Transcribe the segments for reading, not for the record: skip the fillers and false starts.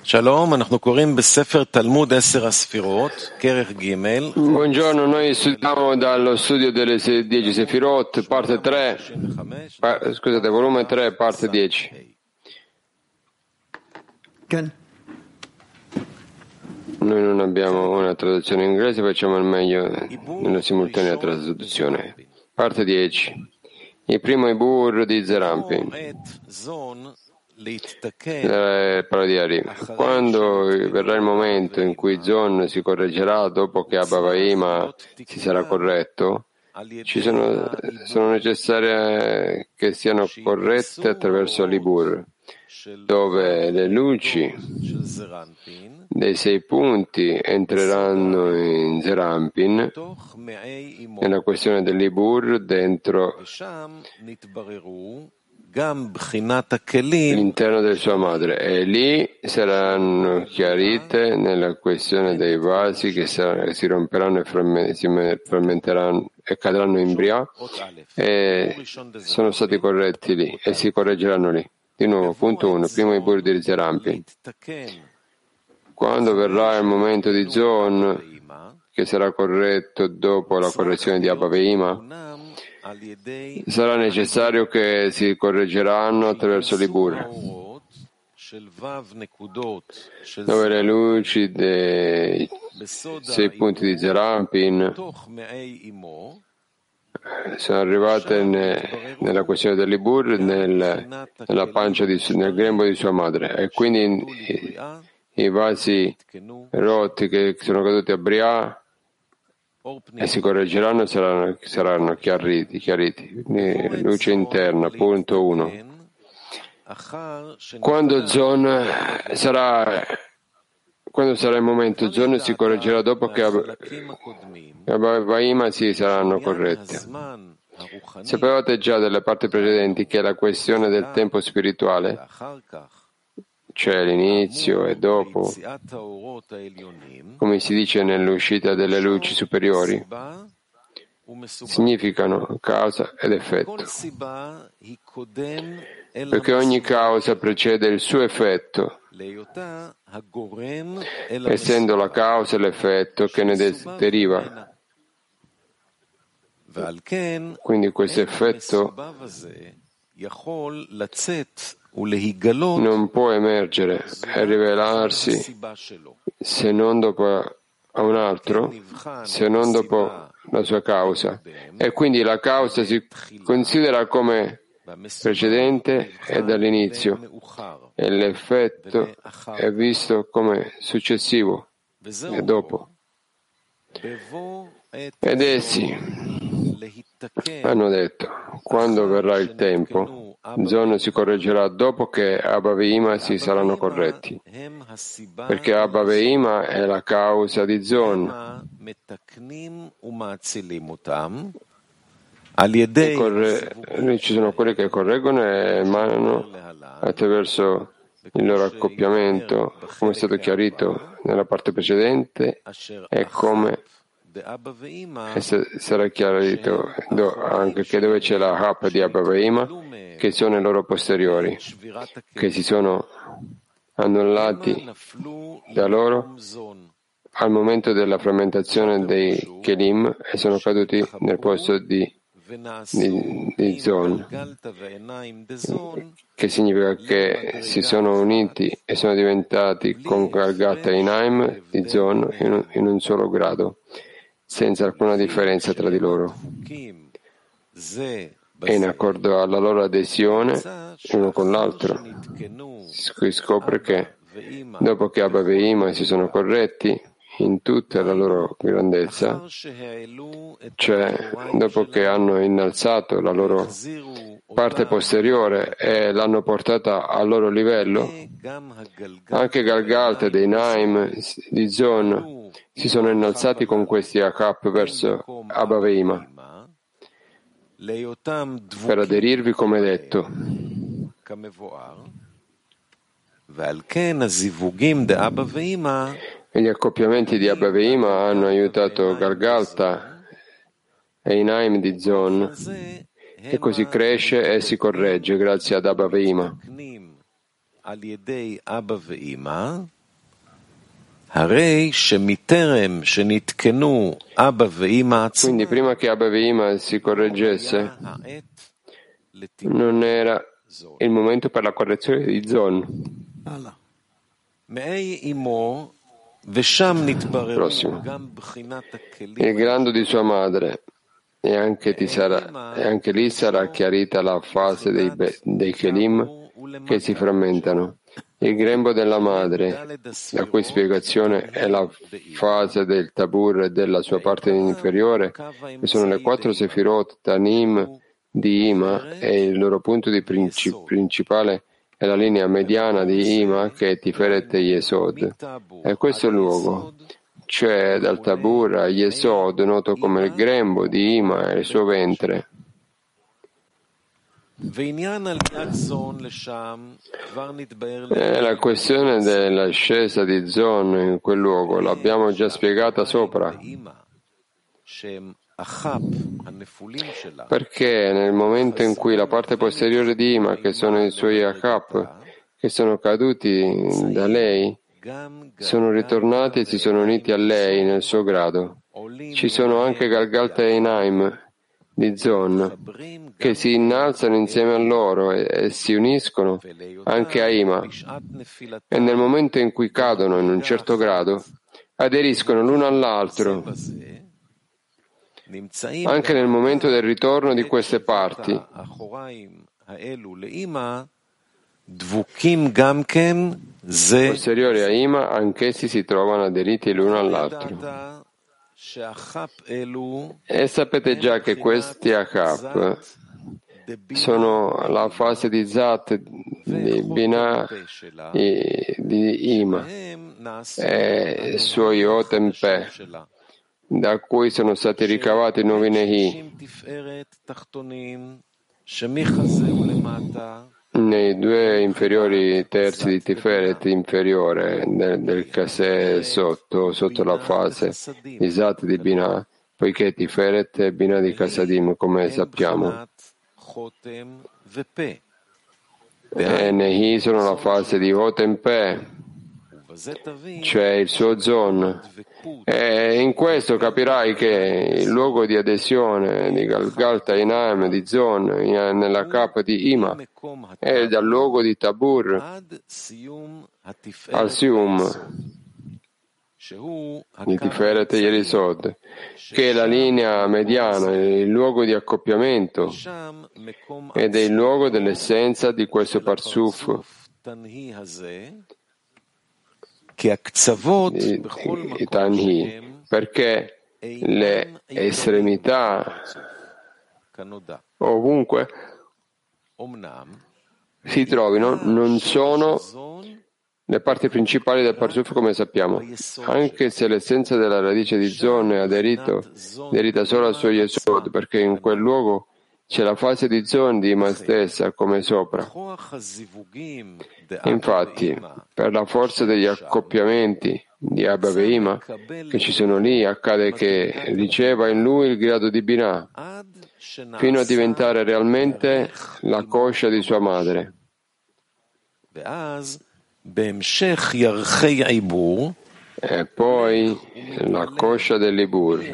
Buongiorno, noi studiamo dallo studio delle 10 Sefirot, parte 3, volume 3, parte 10. Noi non abbiamo una traduzione in inglese, facciamo il meglio nella simultanea traduzione. Parte 10. Il primo Ibur di Zerampin. Parla di Ari. Quando verrà il momento in cui Zon si correggerà dopo che Abba Vahima si sarà corretto, sono necessarie che siano corrette attraverso l'Ibur, dove le luci dei 6 punti entreranno in Zerampin, nella questione dell'Ibur, dentro l'interno della sua madre, e lì saranno chiarite nella questione dei vasi che si romperanno e si frammenteranno e cadranno in Bria, e sono stati corretti lì e si correggeranno lì. Di nuovo, punto 1, primo Ibur di Zerampin. Quando verrà il momento di Zon, che sarà corretto dopo la correzione di Abba Vahima, sarà necessario che si correggeranno attraverso l'Ibur, dove le luci dei 6 punti di Zerampin sono arrivate nella questione dell'Ibur, nella pancia, nel grembo di sua madre, e quindi i vasi rotti che sono caduti a Bria e si correggeranno saranno chiariti. Luce interna, punto 1. Quando sarà il momento, Zon si correggerà dopo che Abba Vahima si saranno corrette. Sapevate già dalle parti precedenti che la questione del tempo spirituale, cioè l'inizio e dopo, come si dice nell'uscita delle luci superiori, significano causa ed effetto, perché ogni causa precede il suo effetto, essendo la causa l'effetto che ne deriva. Quindi questo effetto non può emergere e rivelarsi se non dopo a un altro, se non dopo la sua causa. E quindi la causa si considera come precedente e dall'inizio, e l'effetto è visto come successivo e dopo. Ed essi hanno detto: quando verrà il tempo, Zon si correggerà dopo che Abba Vahima si saranno corretti, perché Abba Vahima è la causa di Zon. Ci sono quelli che correggono e emanano attraverso il loro accoppiamento, come è stato chiarito nella parte precedente, e come sarà chiarito anche che dove c'è la Hap di Abba Vahima, che sono i loro posteriori, che si sono annullati da loro al momento della frammentazione dei Kelim e sono caduti nel posto di Zon, che significa che si sono uniti e sono diventati con Galgata e Inaim di Zon in un solo grado, senza alcuna differenza tra di loro, e in accordo alla loro adesione uno con l'altro. Si scopre che dopo che Abba Vahima si sono corretti in tutta la loro grandezza, cioè dopo che hanno innalzato la loro parte posteriore e l'hanno portata al loro livello, anche Galgalta dei Naim di Zon si sono innalzati con questi Akap verso Abba Vahima per aderirvi come detto. E gli accoppiamenti di Abba Vahima hanno aiutato Galgalta e i Naim di Zon, e così cresce e si corregge grazie ad Abba Vahima. Quindi prima che Abba e Ima si correggesse, non era il momento per la correzione di Zon. Prossimo. Il grado di sua madre, e anche lì sarà chiarita la fase dei Kelim che si frammentano. Il grembo della madre, la cui spiegazione è la fase del Tabur e della sua parte inferiore, che sono le 4 Sefirot Tanim di Ima, e il loro punto di principale è la linea mediana di Ima, che è Tiferet e Yesod. E questo luogo, cioè dal Tabur a Yesod, noto come il grembo di Ima e il suo ventre. La questione dell'ascesa di Zon in quel luogo l'abbiamo già spiegata sopra, perché nel momento in cui la parte posteriore di Ima, che sono i suoi Achap, che sono caduti da lei, sono ritornati e si sono uniti a lei nel suo grado, ci sono anche Galgalta e Einaim di Zon, che si innalzano insieme a loro e si uniscono anche a Ima, e nel momento in cui cadono in un certo grado, aderiscono l'uno all'altro. Anche nel momento del ritorno di queste parti, posteriori a Ima, anch'essi si trovano aderiti l'uno all'altro. E sapete già che questi Achap sono la fase di Zat, di Binah, di Ima, e suoi Otempe, da cui sono stati ricavati i nuovi Nehi. Nei 2 inferiori terzi di Tiferet inferiore del Kaseh sotto la fase di Zat di Binah, poiché Tiferet è Binah di Kasadim, come sappiamo. E Nehi sono la fase di Hotem Pe, cioè il suo Zon. E in questo capirai che il luogo di adesione di Galgalta Einaim di Zon nella capa di Ima è dal luogo di Tabur al Sium di Tiferet e Yerisod, che è la linea mediana, il luogo di accoppiamento ed è il luogo dell'essenza di questo Parsuf di Tanhi, perché le estremità ovunque si trovino non sono le parti principali del Parsuf, come sappiamo, anche se l'essenza della radice di Zon è aderita solo al suo Yesod, perché in quel luogo c'è la fase di Zon di Ima stessa, come sopra. Infatti, per la forza degli accoppiamenti di Abba e Ima che ci sono lì, accade che riceva in lui il grado di Binah, fino a diventare realmente la coscia di sua madre. E poi la coscia dell'Ibur.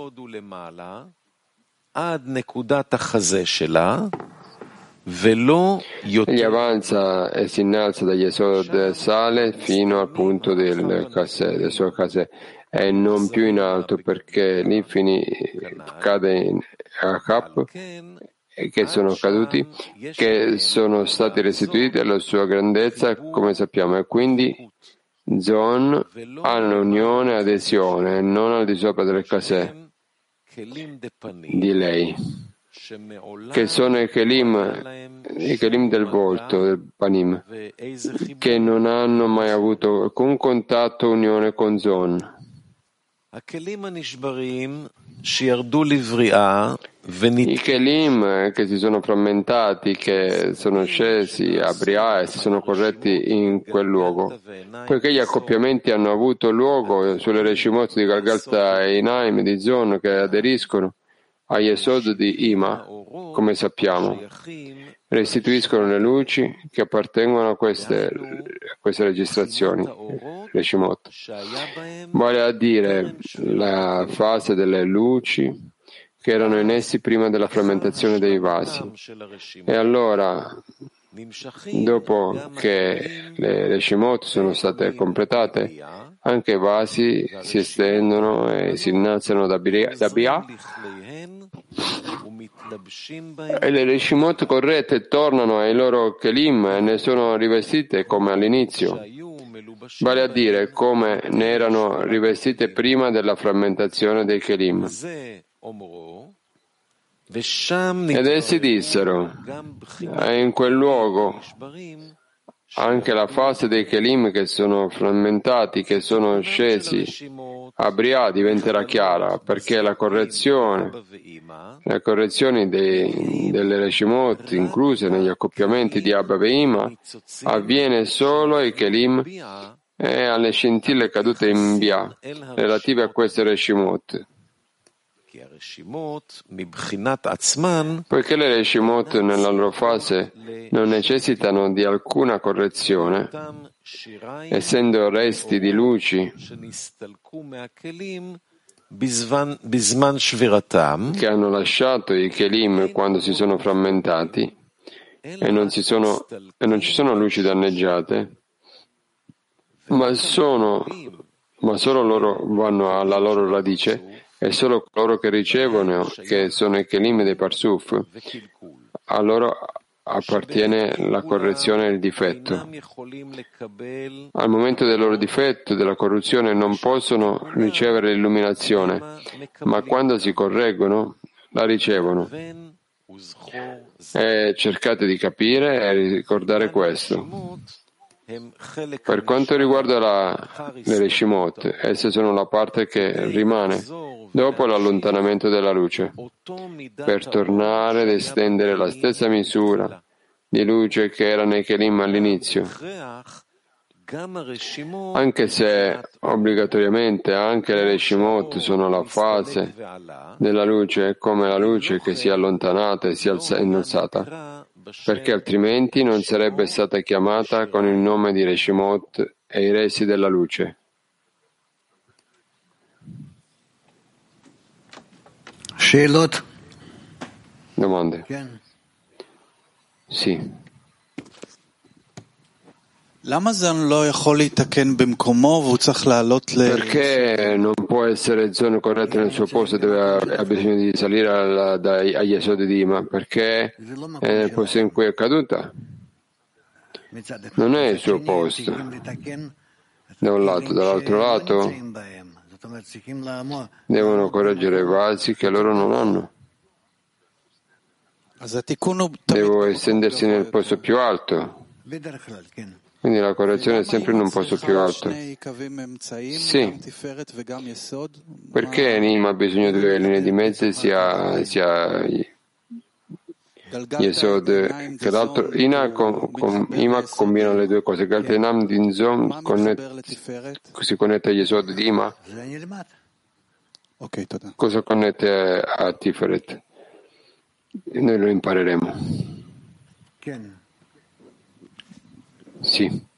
Egli avanza e si innalza dagli Yesod, sale fino al punto del suo Kaseh, e non più in alto, perché lì cade in Achap, che sono caduti, che sono stati restituiti alla sua grandezza, come sappiamo, e quindi Zon ha un'unione, adesione, non al di sopra del Kaseh di lei, che sono i Kelim del volto, del Panim, che non hanno mai avuto alcun contatto o unione con Zon. I Kelim che si sono frammentati, che sono scesi a Briah e si sono corretti in quel luogo, poiché gli accoppiamenti hanno avuto luogo sulle Reshimot di Galgalta e Einaim di Zon che aderiscono, a Yesod di Ima, come sappiamo, restituiscono le luci che appartengono a queste registrazioni, le Shemot. Vale a dire la fase delle luci che erano in essi prima della frammentazione dei vasi. E allora, dopo che le Shemot sono state completate, anche i vasi si estendono e si innalzano da Bia, e le Reshimot corrette tornano ai loro Kelim e ne sono rivestite come all'inizio, vale a dire come ne erano rivestite prima della frammentazione dei Kelim. Ed essi dissero, e in quel luogo anche la fase dei Kelim che sono frammentati, che sono scesi a Bria, diventerà chiara, perché le correzioni delle Reshimot incluse negli accoppiamenti di Abba Veima avviene solo ai Kelim e alle scintille cadute in Bia relative a queste Reshimot. Poiché le Reshimot nella loro fase non necessitano di alcuna correzione, essendo resti di luci che hanno lasciato i Kelim quando si sono frammentati e non ci sono luci danneggiate, ma solo loro vanno alla loro radice, e solo coloro che ricevono, che sono i Kelim dei Parsuf, a loro appartiene la correzione e il difetto. Al momento del loro difetto, della corruzione, non possono ricevere l'illuminazione, ma quando si correggono, la ricevono. E cercate di capire e ricordare questo. Per quanto riguarda le Reshimot, esse sono la parte che rimane dopo l'allontanamento della luce, per tornare ad estendere la stessa misura di luce che era nei Kelim all'inizio, anche se obbligatoriamente anche le Reshimot sono la fase della luce come la luce che si è allontanata e si è innalzata, perché altrimenti non sarebbe stata chiamata con il nome di Reshimot e i resi della luce. Domande? Sì. Perché non può essere zone corrette nel suo posto, ha bisogno di salire agli esodi di Ima? Perché è nel posto in cui è caduta? Non è il suo posto. Da un lato, dall'altro lato devono correggere i vasi che loro non hanno. Devo estendersi nel posto più alto. Quindi la correzione è sempre in un posto più alto. Sì. Perché Nima ha bisogno di due linee di mezzo sia Yesod che l'altro? Ima combina le due cose. Galtenam Dinzom si connette a Yesod di Ima. Cosa connette a Tiferet? Noi lo impareremo. Sì.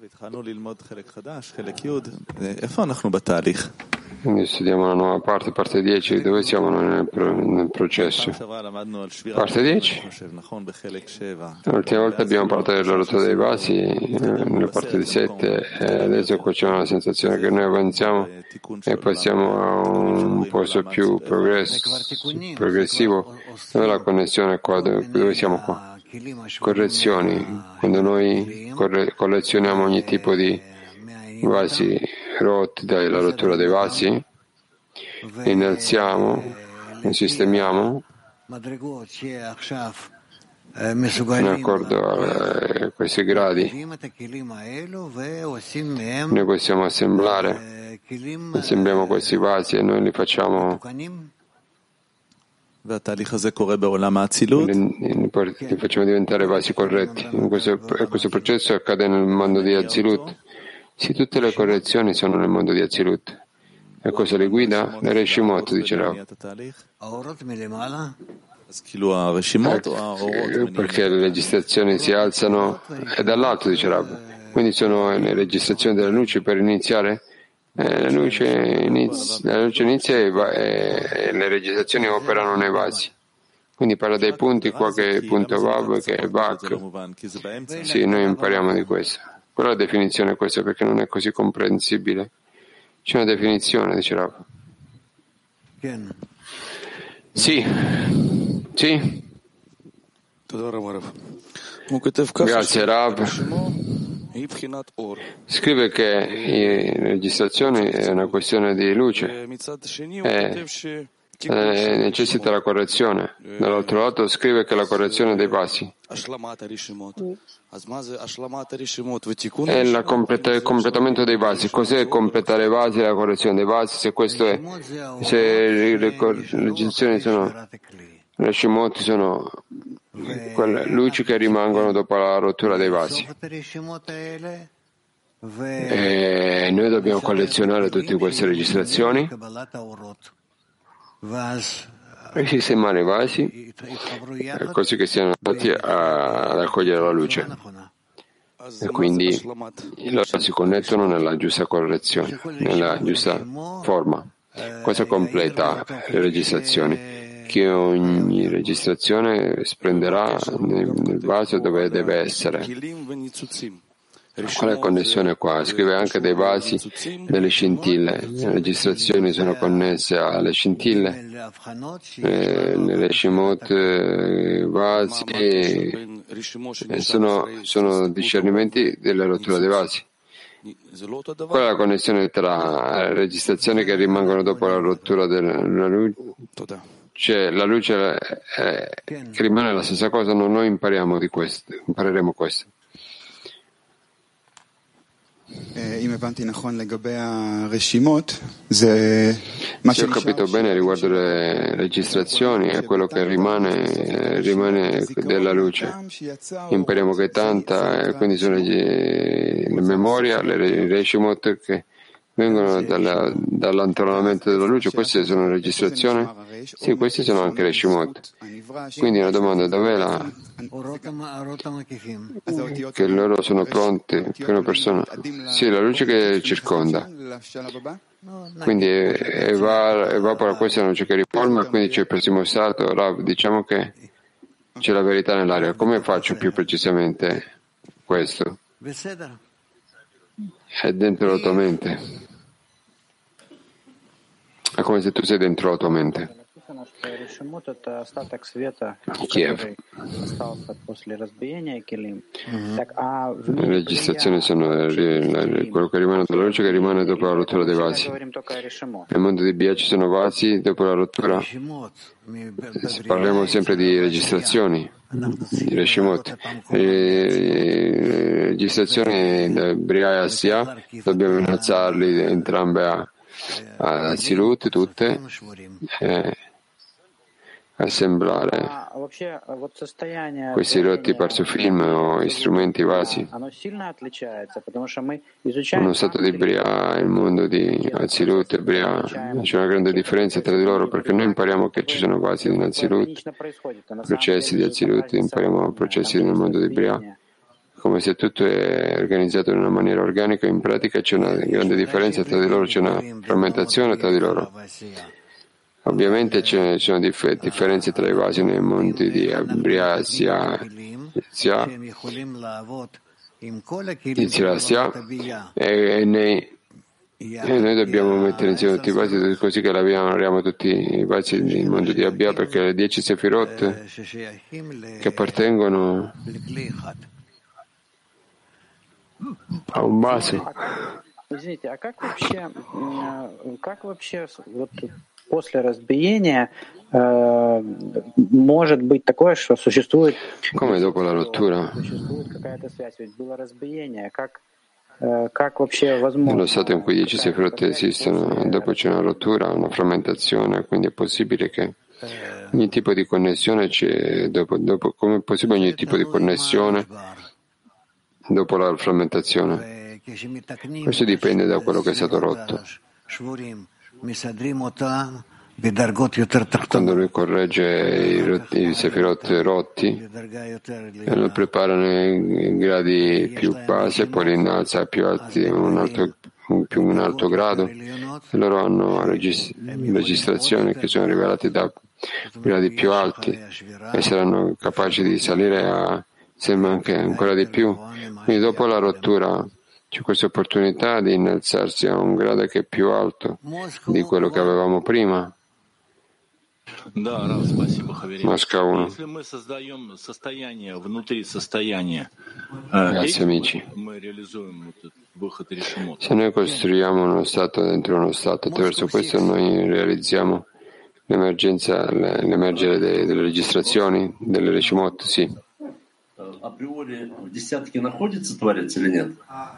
Quindi studiamo la nuova parte 10. Dove siamo nel processo? Parte 10? L'ultima volta abbiamo parlato della rottura dei vasi, nella parte di 7, e adesso qua c'è una sensazione che noi avanziamo e passiamo a un posto più progressivo. Dove la connessione è qua? Dove siamo qua? Correzioni. Quando noi collezioniamo ogni tipo di vasi rotti dalla rottura dei vasi, innalziamo e sistemiamo in accordo a questi gradi. Noi possiamo assembliamo questi vasi e noi li facciamo li facciamo diventare vasi corretti. Questo processo accade nel mondo di Azilut. Sì, tutte le correzioni sono nel mondo di Azilut. E cosa li guida? Le Reshimot, dice Rav. Perché le registrazioni si alzano e dall'alto, dice Rav. Quindi sono le registrazioni delle luci per iniziare? La luce inizia e le registrazioni operano nei vasi. Quindi parla dei punti qua che è il punto Vav, che è Vak. Sì, noi impariamo di questo. Però la definizione è questa perché non è così comprensibile. C'è una definizione, dice Rav. Sì. Sì. Grazie Rav. Scrive che la registrazione è una questione di luce e necessita la correzione. Dall'altro lato scrive che la correzione dei passi è il completamento dei vasi. Cos'è completare i vasi e la correzione dei vasi? Se questo è, se le registrazioni sono le Shemot sono quelle luci che rimangono dopo la rottura dei vasi. E noi dobbiamo collezionare tutte queste registrazioni e sistemare i vasi così che siano adatti ad accogliere la luce. E quindi loro si connettono nella giusta correzione, nella giusta forma. Cosa completa le registrazioni? Che ogni registrazione prenderà nel vaso dove deve essere. Qual è la connessione qua? Scrive anche dei vasi, delle scintille. Le registrazioni sono connesse alle scintille, nelle Shemot, vasi, sono discernimenti della rottura dei vasi. Qual è la connessione tra le registrazioni che rimangono dopo la rottura della luce? Cioè, la luce che rimane la stessa cosa, noi impariamo di questo, impareremo questo. Se ho capito bene riguardo le registrazioni, è quello che rimane della luce. Impariamo che tanta, quindi sono le memoria, le Reshimot che vengono dall'intonamento della luce. Queste sono registrazioni? Sì, questi sono anche Reshimot. Quindi una domanda, dov'è che loro sono pronti per una persona? Sì, la luce che circonda. Quindi evapora questa è la luce che riforma, quindi c'è il prossimo stato. Rav, diciamo che c'è la verità nell'aria. Come faccio più precisamente questo? È dentro la tua mente. È come se tu sei dentro la tua mente. Kiev. Le registrazioni sono quello che rimane dalla luce che rimane dopo la rottura dei vasi. Nel mondo di Bia ci sono vasi dopo la rottura. Parliamo sempre di registrazioni, di Reshimot. Le registrazioni da Bria e Assia dobbiamo innalzarli entrambe a Silut, tutte. Assemblare questi rotti parsufilm o strumenti vasi. Uno stato di Bria e il mondo di Azilut e Bria, c'è una grande differenza tra di loro perché noi impariamo che ci sono vasi in Azilut, processi di Azilut, impariamo processi nel mondo di Bria, come se tutto è organizzato in una maniera organica. In pratica c'è una grande differenza tra di loro, c'è una frammentazione tra di loro. Ovviamente ci sono differenze tra i vasi nei mondi di Bria e noi dobbiamo mettere insieme tutti i vasi così che lavoriamo tutti i vasi nel mondo di Abia, perché le 10 Sefirot che appartengono a un vaso. После разбиения может быть такое, что существует какая-то связь, ведь было разбиение, как вообще возможно? Nello stato in cui 10 Sefirot esistono, dopo c'è una rottura, una frammentazione, quindi è possibile che ogni tipo di connessione c'è, come è possibile ogni tipo di connessione dopo la frammentazione? Questo dipende da quello che è stato rotto. Quando lui corregge i sefirot rotti, e lo prepara nei gradi più bassi e poi li innalza più alti, un alto grado, e loro hanno registrazioni che sono rivelate da gradi più alti e saranno capaci di salire a sembra anche ancora di più. Quindi dopo la rottura c'è questa opportunità di innalzarsi a un grado che è più alto di quello che avevamo prima. Mosca 1. Grazie amici. Se noi costruiamo uno stato dentro uno stato, attraverso questo noi realizziamo l'emergere delle registrazioni, delle Reshimot, sì. Априори в десятке находится Творец или нет?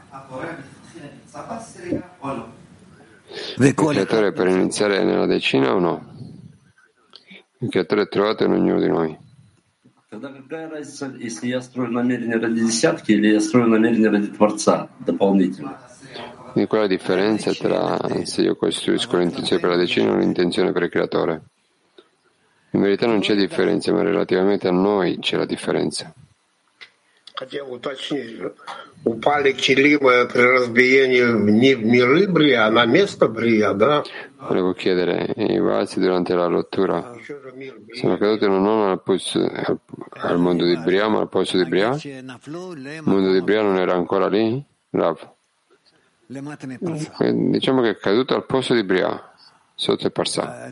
Il creatore per iniziare nella decina o no? Il creatore è trovato in ognuno di noi. Тогда какая разница, если я строю намерение ради десятки или я строю намерение ради Творца дополнительно? Quindi qual è la differenza tra se io costruisco l'intenzione per la decina o l'intenzione per il creatore? In verità non c'è differenza, ma relativamente a noi c'è la differenza. Хотел уточнить, упали килимы при разбиении не в миры Брия, а на место Брия, да? Volevo chiedere, i vasi durante la rottura sono caduti non al mondo di Bria, ma al posto di Bria? Il mondo di Bria non era ancora lì? Rav? Diciamo che è caduto al posto di Bria, sotto il Parsà.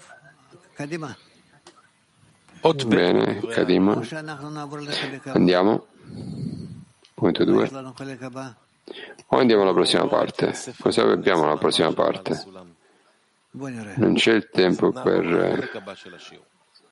Bene, Kadima. Andiamo. Punto 2. O andiamo alla prossima parte? Cosa abbiamo alla prossima parte? Non c'è il tempo per